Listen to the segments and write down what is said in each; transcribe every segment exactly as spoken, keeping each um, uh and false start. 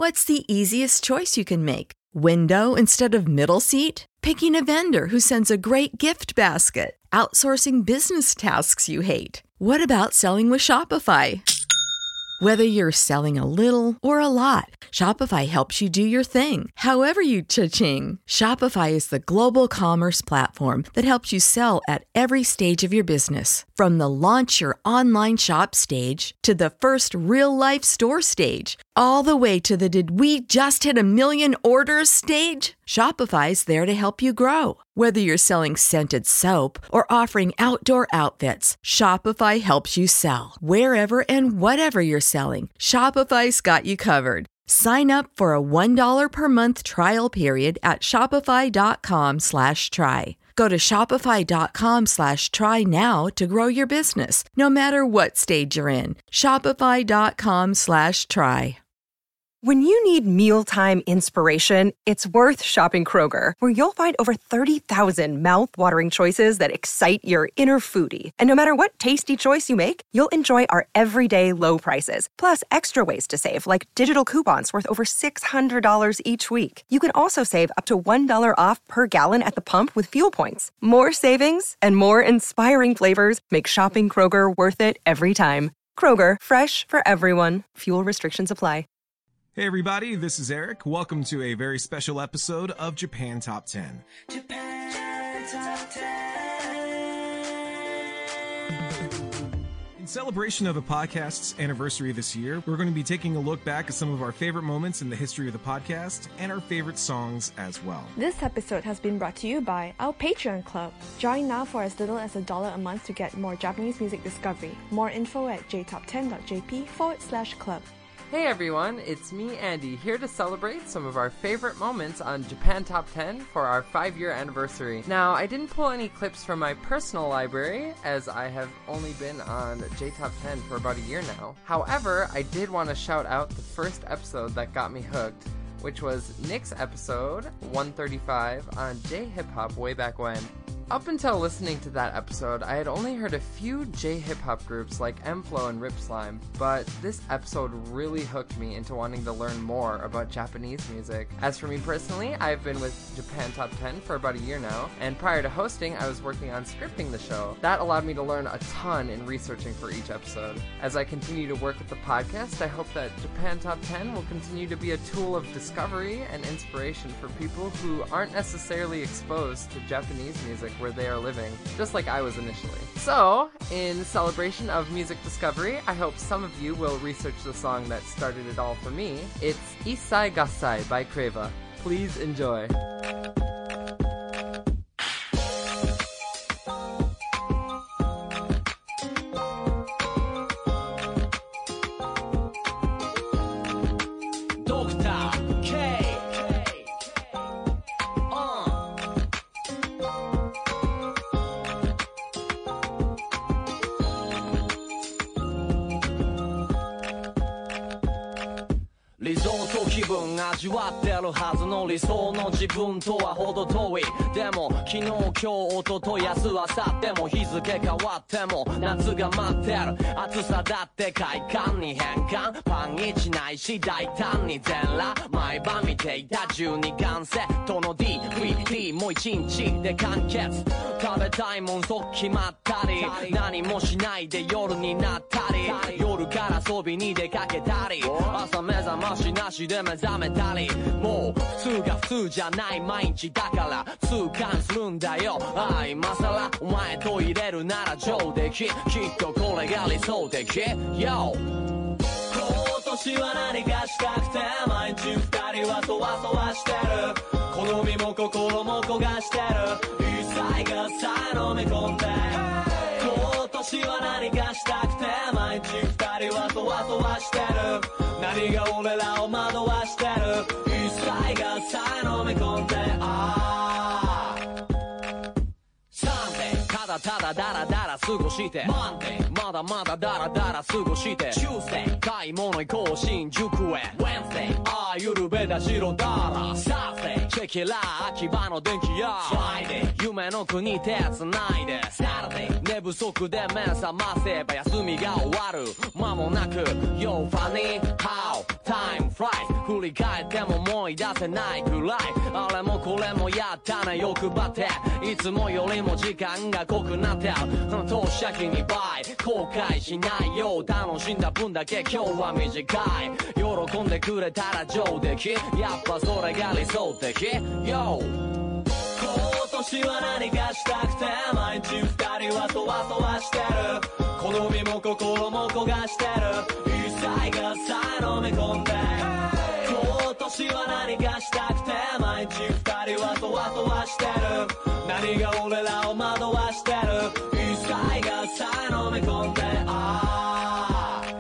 What's the easiest choice you can make? Window instead of middle seat? Picking a vendor who sends a great gift basket? Outsourcing business tasks you hate? What about selling with Shopify? Whether you're selling a little or a lot, Shopify helps you do your thing, however you cha-ching. Shopify is the global commerce platform that helps you sell at every stage of your business. From the launch your online shop stage to the first real-life store stage, all the way to the did we just hit a million orders stage. Shopify's there to help you grow. Whether you're selling scented soap or offering outdoor outfits, Shopify helps you sell. Wherever and whatever you're selling, Shopify's got you covered. Sign up for a one dollar per month trial period at shopify.com slash try. Go to shopify.com slash try now to grow your business, no matter what stage you're in. Shopify.com slash try. When you need mealtime inspiration, it's worth shopping Kroger, where you'll find over thirty thousand mouth-watering choices that excite your inner foodie. And no matter what tasty choice you make, you'll enjoy our everyday low prices, plus extra ways to save, like digital coupons worth over six hundred dollars each week. You can also save up to one dollar off per gallon at the pump with fuel points. More savings and more inspiring flavors make shopping Kroger worth it every time. Kroger, fresh for everyone. Fuel restrictions apply. Hey everybody, this is Eric. Welcome to a very special episode of Japan Top ten. Japan Top ten. In celebration of the podcast's anniversary this year, we're going to be taking a look back at some of our favorite moments in the history of the podcast and our favorite songs as well. This episode has been brought to you by our Patreon club. Join now for as little as a dollar a month to get more Japanese music discovery. More info at jtop10.jp forward slash club. Hey everyone, it's me, Andy, here to celebrate some of our favorite moments on Japan Top ten for our five-year anniversary. Now, I didn't pull any clips from my personal library, as I have only been on J Top ten for about a year now. However, I did want to shout out the first episode that got me hooked, which was Nick's episode one thirty-five on J-Hip Hop way back when. Up until listening to that episode, I had only heard a few J-hip hop groups like M-Flow and Rip Slime, but this episode really hooked me into wanting to learn more about Japanese music. As for me personally, I've been with Japan Top ten for about a year now, and prior to hosting, I was working on scripting the show. That allowed me to learn a ton in researching for each episode. As I continue to work with the podcast, I hope that Japan Top ten will continue to be a tool of discovery and inspiration for people who aren't necessarily exposed to Japanese music where they are living, just like I was initially. So, in celebration of music discovery, I hope some of you will research the song that started it all for me. It's Issai Gassai by Creva. Please enjoy. 味わってるはずの理想の自分とは程遠いでも昨日今日一昨日明日明後日も日付変わっても夏が待ってる暑さだって快感に変換パン一ないし大胆に全裸毎晩見ていたじゅうにかんセットの ディーブイディー もう一日で完結食べたいもん即決まったり何もしないで夜になったり夜から遊びに出かけたり朝目覚ましなしで目覚めたりもう普通が普通じゃない毎日だから痛感するんだよああ今さらお前と入れるなら上出来きっとこれが理想的 Yo 今年は何かしたくて毎日二人はそわそわしてる好みも心も焦がしてる一切がさえ飲み込んで今年は何かしたくて毎日二人はそわそわしてる何が俺らを惑わしてる一切がさえ飲み込んであサンデーただただダラダラ過ごしてマンデーまだまだダラダラ過ごしてチュースデー買い物行こう新宿へウェンズデーああゆるべだ白ダラサースデーチェキラー秋葉の電気屋フライデー夢の国手つないでサラデー寝不足で目覚ませば休みが終わる間もなく Yo funny how Time fly 振り返っても思い出せないくらいあれもこれもやったな欲張っていつもよりも時間が濃くなってる投資先に倍後悔しないよう楽しんだ分だけ今日は短い喜んでくれたら上出来やっぱそれが理想的 Yo 今年は何かしたくて毎日二人はそわそわしてる好みも心も焦がしてる一切がさえ飲み込んで今年は何かしたくて毎日二人はそわそわしてる何が俺らを惑わしてる一切がさえ飲み込んでああ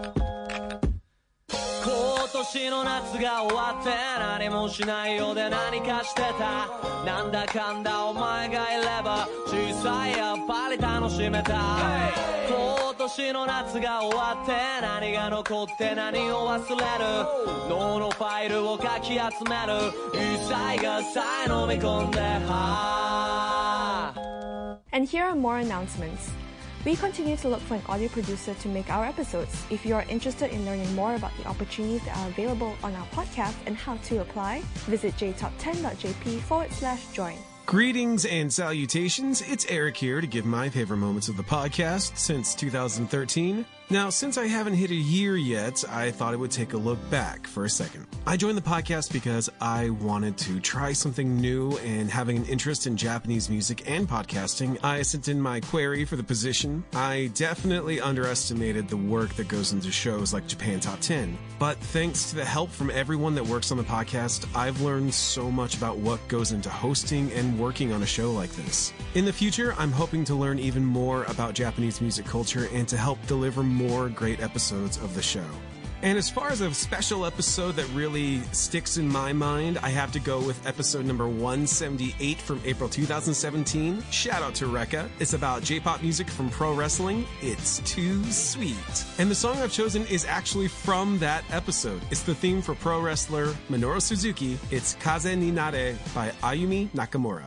今年の夏が終わって何もしないようで何かしてたなんだかんだお前がいれば小さいやっぱり楽しめた、hey! 今年の夏が終わって何が残って何を忘れる脳のファイルをかき集める一切がさえ飲み込んでは And here are more announcements. We continue to look for an audio producer to make our episodes. If you are interested in learning more about the opportunities that are available on our podcast and how to apply, visit j top ten dot j p forward slash join. Greetings and salutations. It's Eric here to give my favorite moments of the podcast since two thousand thirteen. Now, since I haven't hit a year yet, I thought I would take a look back for a second. I joined the podcast because I wanted to try something new, and having an interest in Japanese music and podcasting, I sent in my query for the position. I definitely underestimated the work that goes into shows like Japan Top ten. But thanks to the help from everyone that works on the podcast, I've learned so much about what goes into hosting and working on a show like this. In the future, I'm hoping to learn even more about Japanese music culture and to help deliver more great episodes of the show. And as far as a special episode that really sticks in my mind, I have to go with episode number one seventy-eight from April two thousand seventeen. Shout out to Rekka. It's about J-pop music from pro wrestling. It's too sweet. And the song I've chosen is actually from that episode. It's the theme for pro wrestler Minoru Suzuki. It's Kaze ni Nare by Ayumi Nakamura.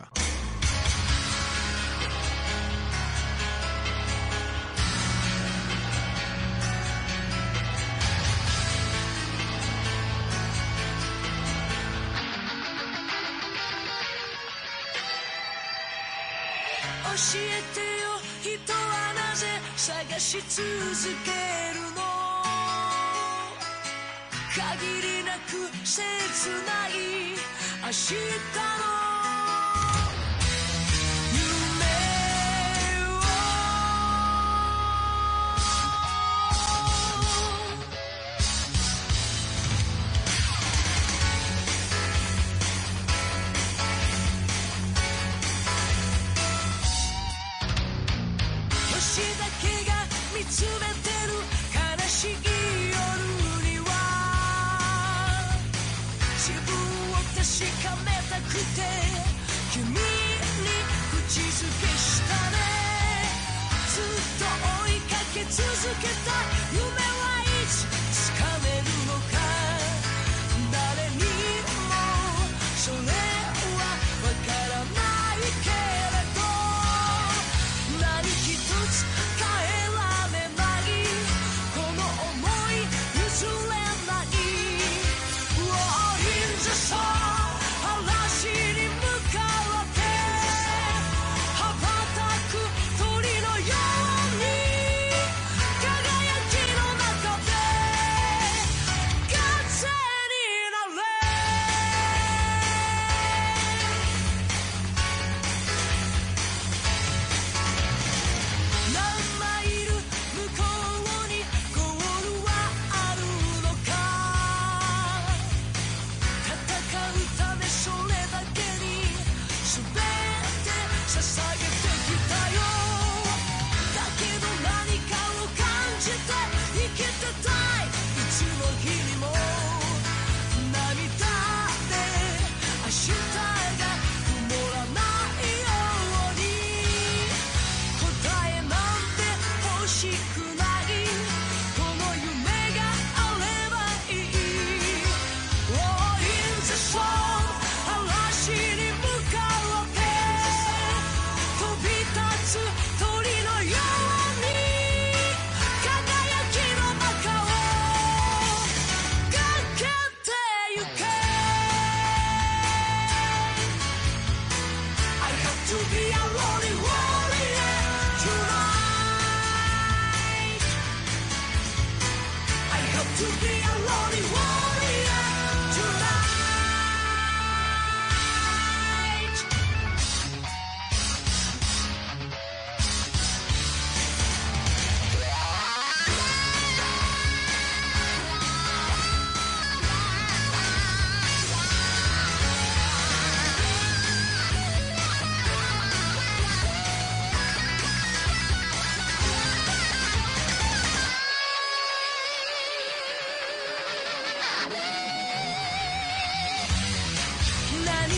教えてよ人はなぜ探し続けるの限りなく切ない明日の見つめてる悲しい夜には自分を確かめたくて君に口づけしたねずっと追いかけ続けた夢はいつ掴めるのか誰にもそれはわからないけれど何一つ変えられないこの想い譲れない Oh in the sun 嵐に向かって羽ばたく鳥のように輝きの中で風になれ何マイル向こうにゴールはあるのか戦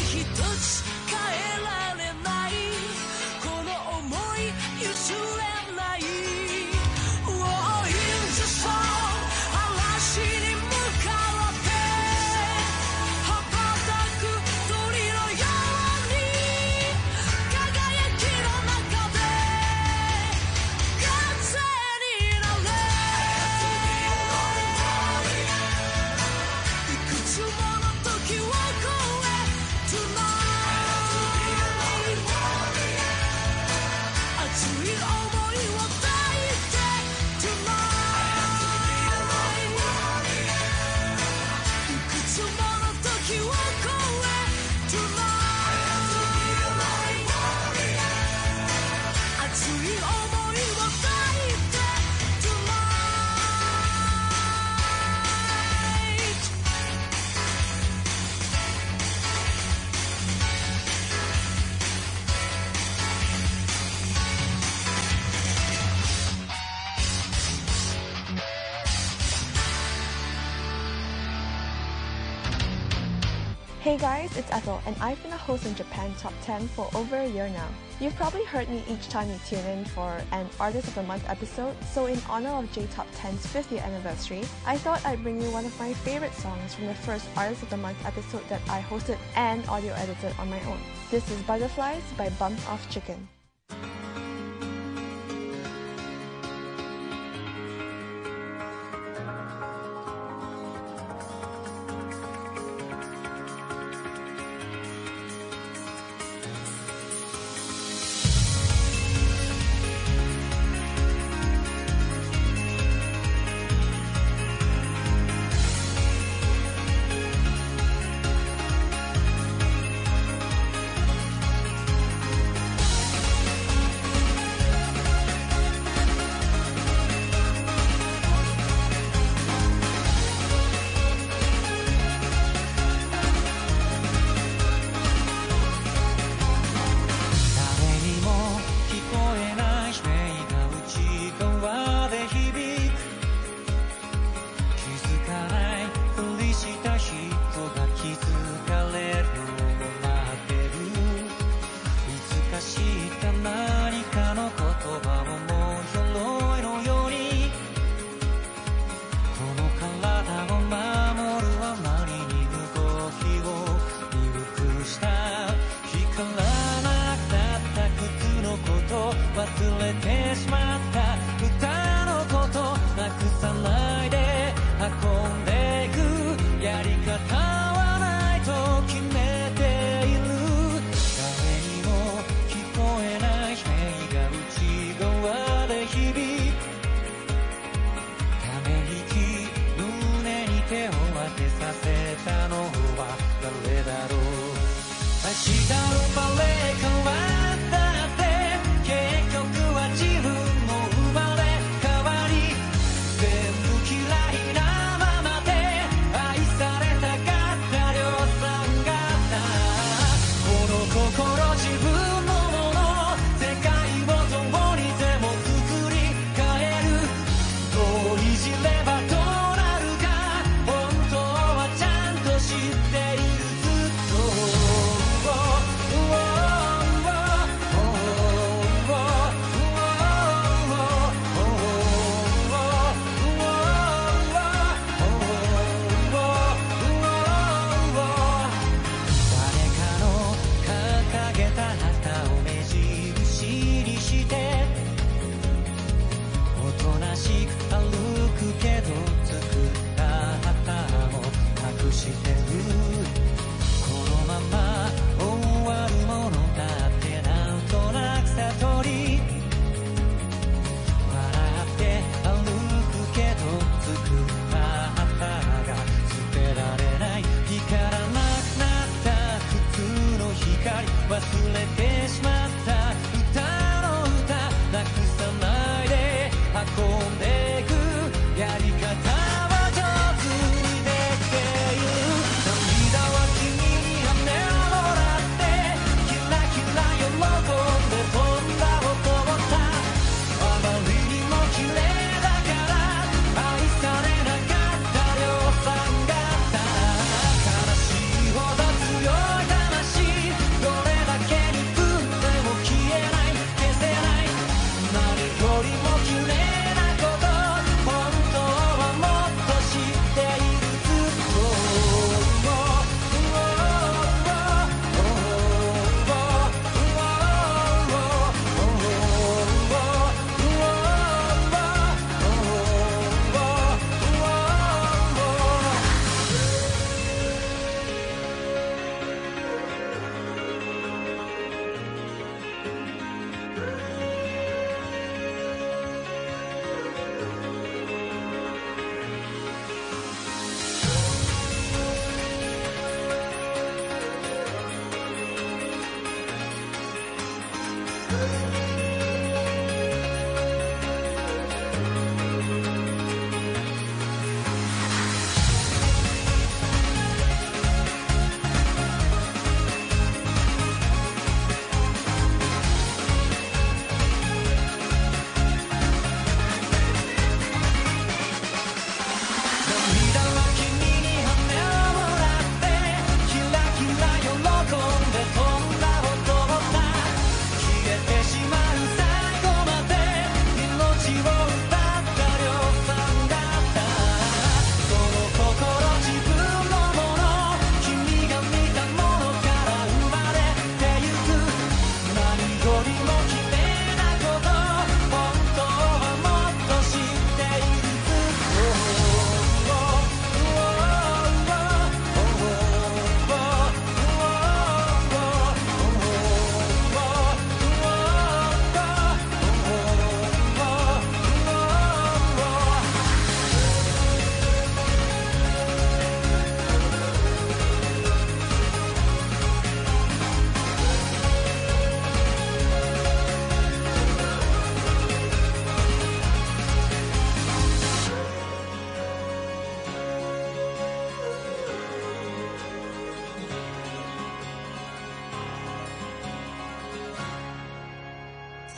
一つ変えられないこの想い譲れない Oh, in the sun 嵐に向かって羽ばたく鳥のように輝きの中で風になれいくつもの時を越え Tonight 熱い想いを抱いて Tonight いくつもの時を越え Tonight 熱い想いを抱いて Tonight Hey guys, it's Ethel, and I've been a host in Japan Top ten for over a year now. You've probably heard me each time you tune in for an Artist of the Month episode, so in honor of J Top ten's fiftieth anniversary, I thought I'd bring you one of my favorite songs from the first Artist of the Month episode that I hosted and audio edited on my own. This is Butterflies by Bump Off Chicken.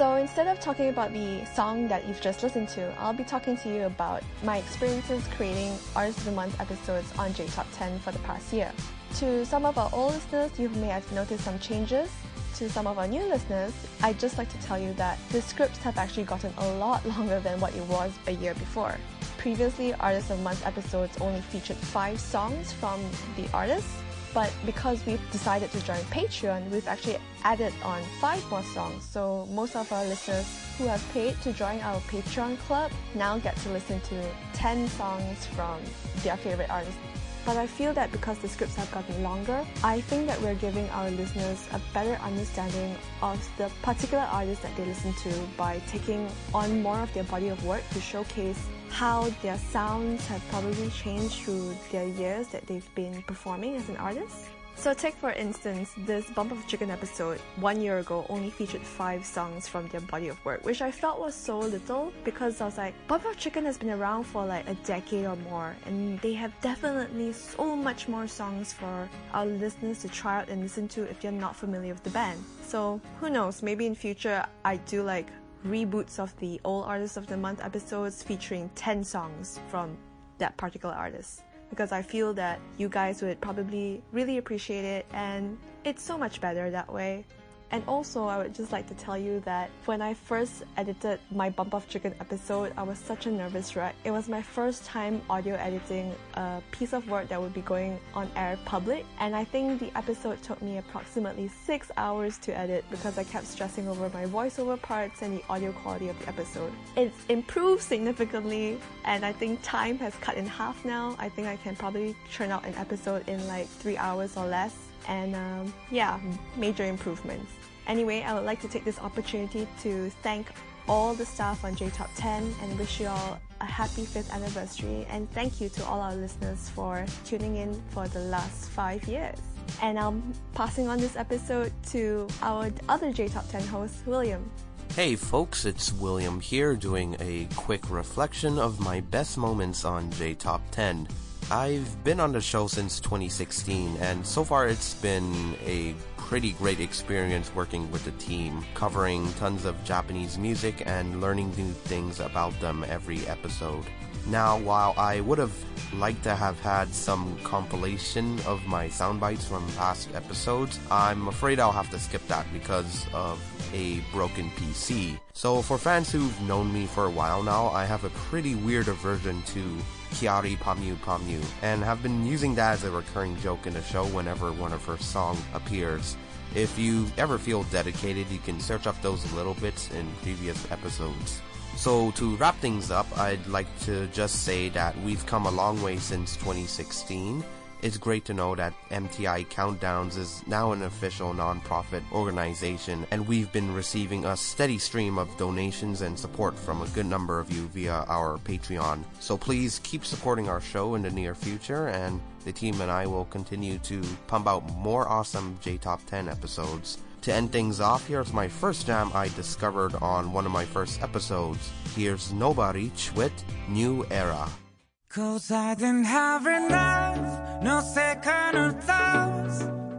So instead of talking about the song that you've just listened to, I'll be talking to you about my experiences creating Artist of the Month episodes on J Top ten for the past year. To some of our old listeners, you may have noticed some changes. To some of our new listeners, I'd just like to tell you that the scripts have actually gotten a lot longer than what it was a year before. Previously, Artist of the Month episodes only featured five songs from the artists, but because we've decided to join Patreon, we've actually added on five more songs. So most of our listeners who have paid to join our Patreon club now get to listen to ten songs from their favorite artists. But I feel that because the scripts have gotten longer, I think that we're giving our listeners a better understanding of the particular artists that they listen to by taking on more of their body of work to showcase how their sounds have probably changed through their years that they've been performing as an artist. So take for instance, this Bump of Chicken episode one year ago only featured five songs from their body of work, which I felt was so little because I was like, Bump of Chicken has been around for like a decade or more and they have definitely so much more songs for our listeners to try out and listen to if you're not familiar with the band. So who knows, maybe in future I do like reboots of the old Artist of the Month episodes featuring ten songs from that particular artist, because I feel that you guys would probably really appreciate it and it's so much better that way. And also, I would just like to tell you that when I first edited my Bump of Chicken episode, I was such a nervous wreck. It was my first time audio editing a piece of work that would be going on air public, and I think the episode took me approximately six hours to edit because I kept stressing over my voiceover parts and the audio quality of the episode. It's improved significantly, and I think time has cut in half now. I think I can probably churn out an episode in like three hours or less. And um, yeah, major improvements. Anyway, I would like to take this opportunity to thank all the staff on J Top ten and wish you all a happy fifth anniversary, and thank you to all our listeners for tuning in for the last five years. And I'm passing on this episode to our other J Top ten host, William. Hey folks, it's William here doing a quick reflection of my best moments on J Top ten. I've been on the show since twenty sixteen, and so far it's been a pretty great experience working with the team, covering tons of Japanese music and learning new things about them every episode. Now, while I would have liked to have had some compilation of my sound bites from past episodes, I'm afraid I'll have to skip that because of a broken P C. So for fans who've known me for a while now, I have a pretty weird aversion to Kiari Pamyu Pamyu, and have been using that as a recurring joke in the show whenever one of her songs appears. If you ever feel dedicated, you can search up those little bits in previous episodes. So to wrap things up, I'd like to just say that we've come a long way since twenty sixteen. It's great to know that M T I Countdowns is now an official non-profit organization, and we've been receiving a steady stream of donations and support from a good number of you via our Patreon. So please keep supporting our show in the near future, and the team and I will continue to pump out more awesome J Top ten episodes. To end things off, here's my first jam I discovered on one of my first episodes. Here's Nobody with New Era. Cause I didn't have enough, no second thoughts.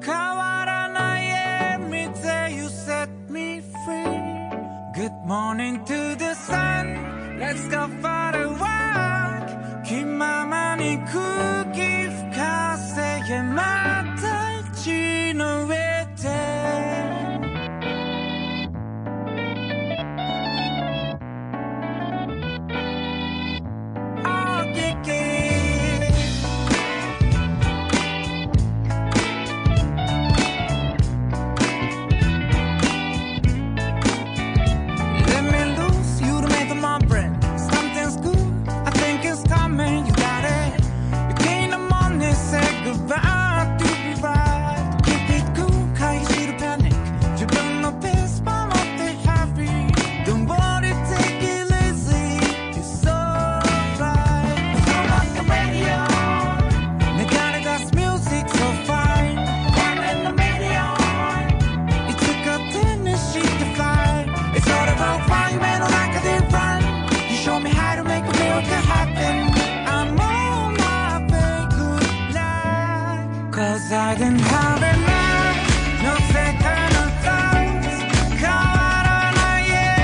Kawaranai every day you set me free. Good morning to the sun, let's go for a walk. Kimama ni kuki fukase yamata ichi no uete. I didn't have enough, no second thoughts. Kawaranai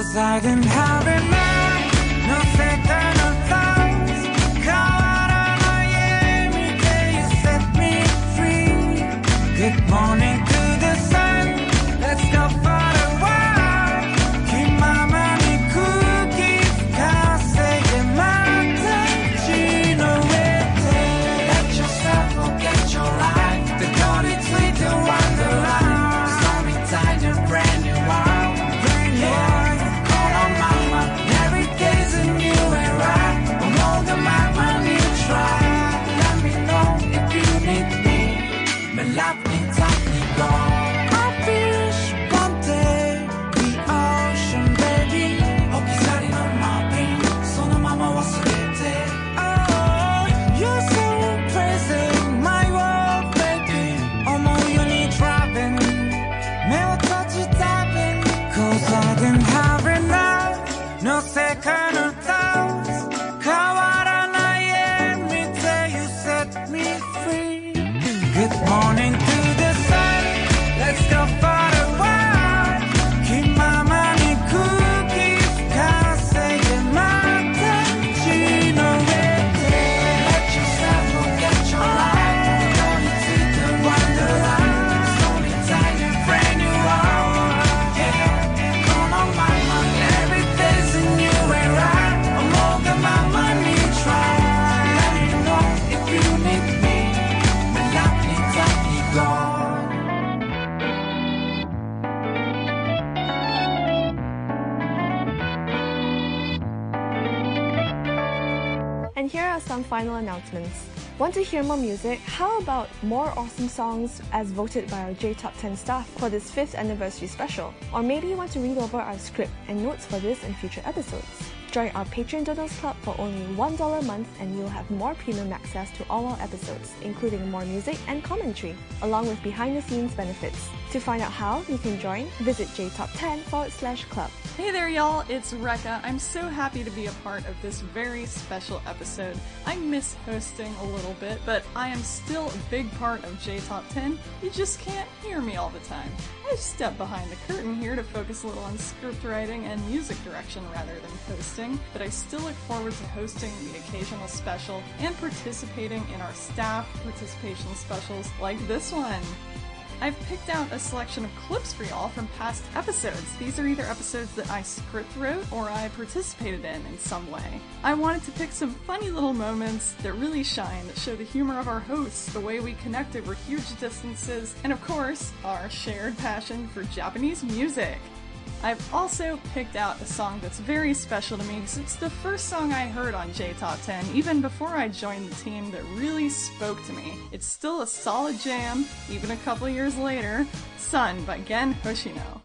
Cause I didn't have enough No second thoughts 変わらない笑みで You set me free Good morning to the sun Let's go for a walk 気ままに空気吹かせてまた地の上で Let yourself forget your life どこについて Wonderland Stormy tide and brand new world Brand new world Call on mama Every day's a new era 思うがままに try Let me know if you need me But love me, take me go I wish one day the ocean baby 置き去りのマーピンそのまま忘れて Oh, you're so crazy My world baby 思うように driving 目を閉じたび Cause I didn't have enough No second thoughts 変わらない笑みで You set me free Good morning to the sun Let's go for a walk 気ままに空気吹かせてまた地の上で Let yourself forget your life どこについて Wonderland Stormy tide and brand new world Yeah Call on mama Every day's a new era 思うがままに try Let me know if you need me But love me, take me go And here are some final announcements. Want to hear more music? How about more awesome songs as voted by our J Top ten staff for this fifth anniversary special? Or maybe you want to read over our script and notes for this and future episodes? Join our Patreon Doodles Club for only one dollar a month and you'll have more premium access to all our episodes, including more music and commentary, along with behind-the-scenes benefits. To find out how you can join, visit jtop10 forward slash club. Hey there, y'all, it's Rekka. I'm so happy to be a part of this very special episode. I miss hosting a little bit, but I am still a big part of J Top ten. You just can't hear me all the time. I step behind the curtain here to focus a little on script writing and music direction rather than hosting, but I still look forward to hosting the occasional special and participating in our staff participation specials like this one. I've picked out a selection of clips for y'all from past episodes. These are either episodes that I script wrote or I participated in in some way. I wanted to pick some funny little moments that really shine, that show the humor of our hosts, the way we connect over huge distances, and of course, our shared passion for Japanese music. I've also picked out a song that's very special to me because it's the first song I heard on J Top ten, even before I joined the team, that really spoke to me. It's still a solid jam, even a couple years later. Sun by Gen Hoshino.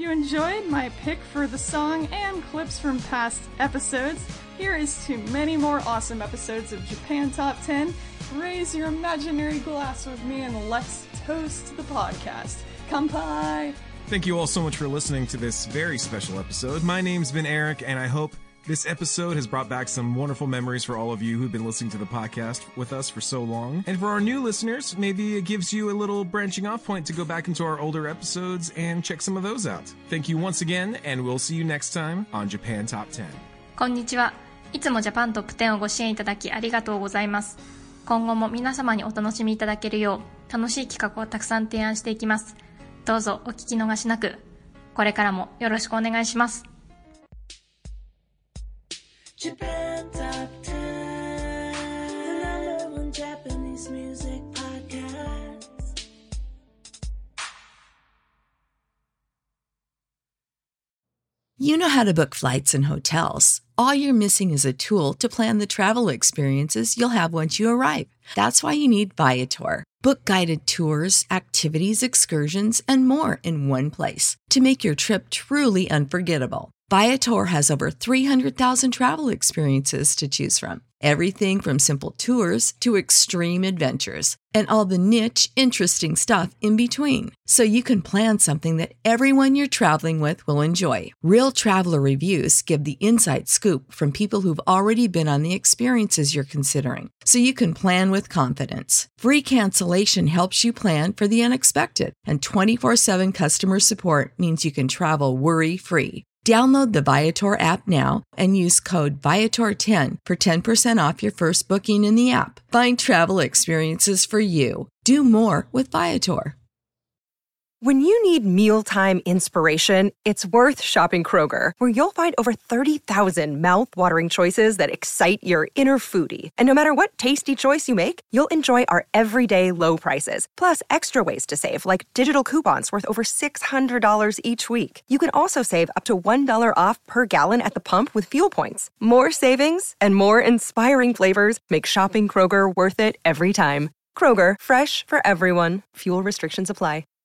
you enjoyed my pick for the song and clips from past episodes, here is to many more awesome episodes of Japan Top ten. Raise your imaginary glass with me and let's toast the podcast. Kanpai! Thank you all so much for listening to this very special episode. My name's been Eric, and I hope this episode has brought back some wonderful memories for all of you who've been listening to the podcast with us for so long. And for our new listeners, maybe it gives you a little branching off point to go back into our older episodes and check some of those out. Thank you once again, and we'll see you next time on Japan Top ten. こんにちは。いつもジャパントップテンをご支援いただきありがとうございます。今後も皆様にお楽しみいただけるよう楽しい企画をたくさん提案していきます。どうぞお聞き逃しなく。これからもよろしくお願いします。 Japan Top ten, the number one Japanese music podcast. You know how to book flights and hotels. All you're missing is a tool to plan the travel experiences you'll have once you arrive. That's why you need Viator. Book guided tours, activities, excursions, and more in one place to make your trip truly unforgettable. Viator has over three hundred thousand travel experiences to choose from. Everything from simple tours to extreme adventures and all the niche, interesting stuff in between. So you can plan something that everyone you're traveling with will enjoy. Real traveler reviews give the inside scoop from people who've already been on the experiences you're considering. So you can plan with confidence. Free cancellation helps you plan for the unexpected. And twenty-four seven customer support means you can travel worry-free. Download the Viator app now and use code Viator ten for ten percent off your first booking in the app. Find travel experiences for you. Do more with Viator. When you need mealtime inspiration, it's worth shopping Kroger, where you'll find over thirty thousand mouth-watering choices that excite your inner foodie. And no matter what tasty choice you make, you'll enjoy our everyday low prices, plus extra ways to save, like digital coupons worth over six hundred dollars each week. You can also save up to one dollar off per gallon at the pump with fuel points. More savings and more inspiring flavors make shopping Kroger worth it every time. Kroger, fresh for everyone. Fuel restrictions apply.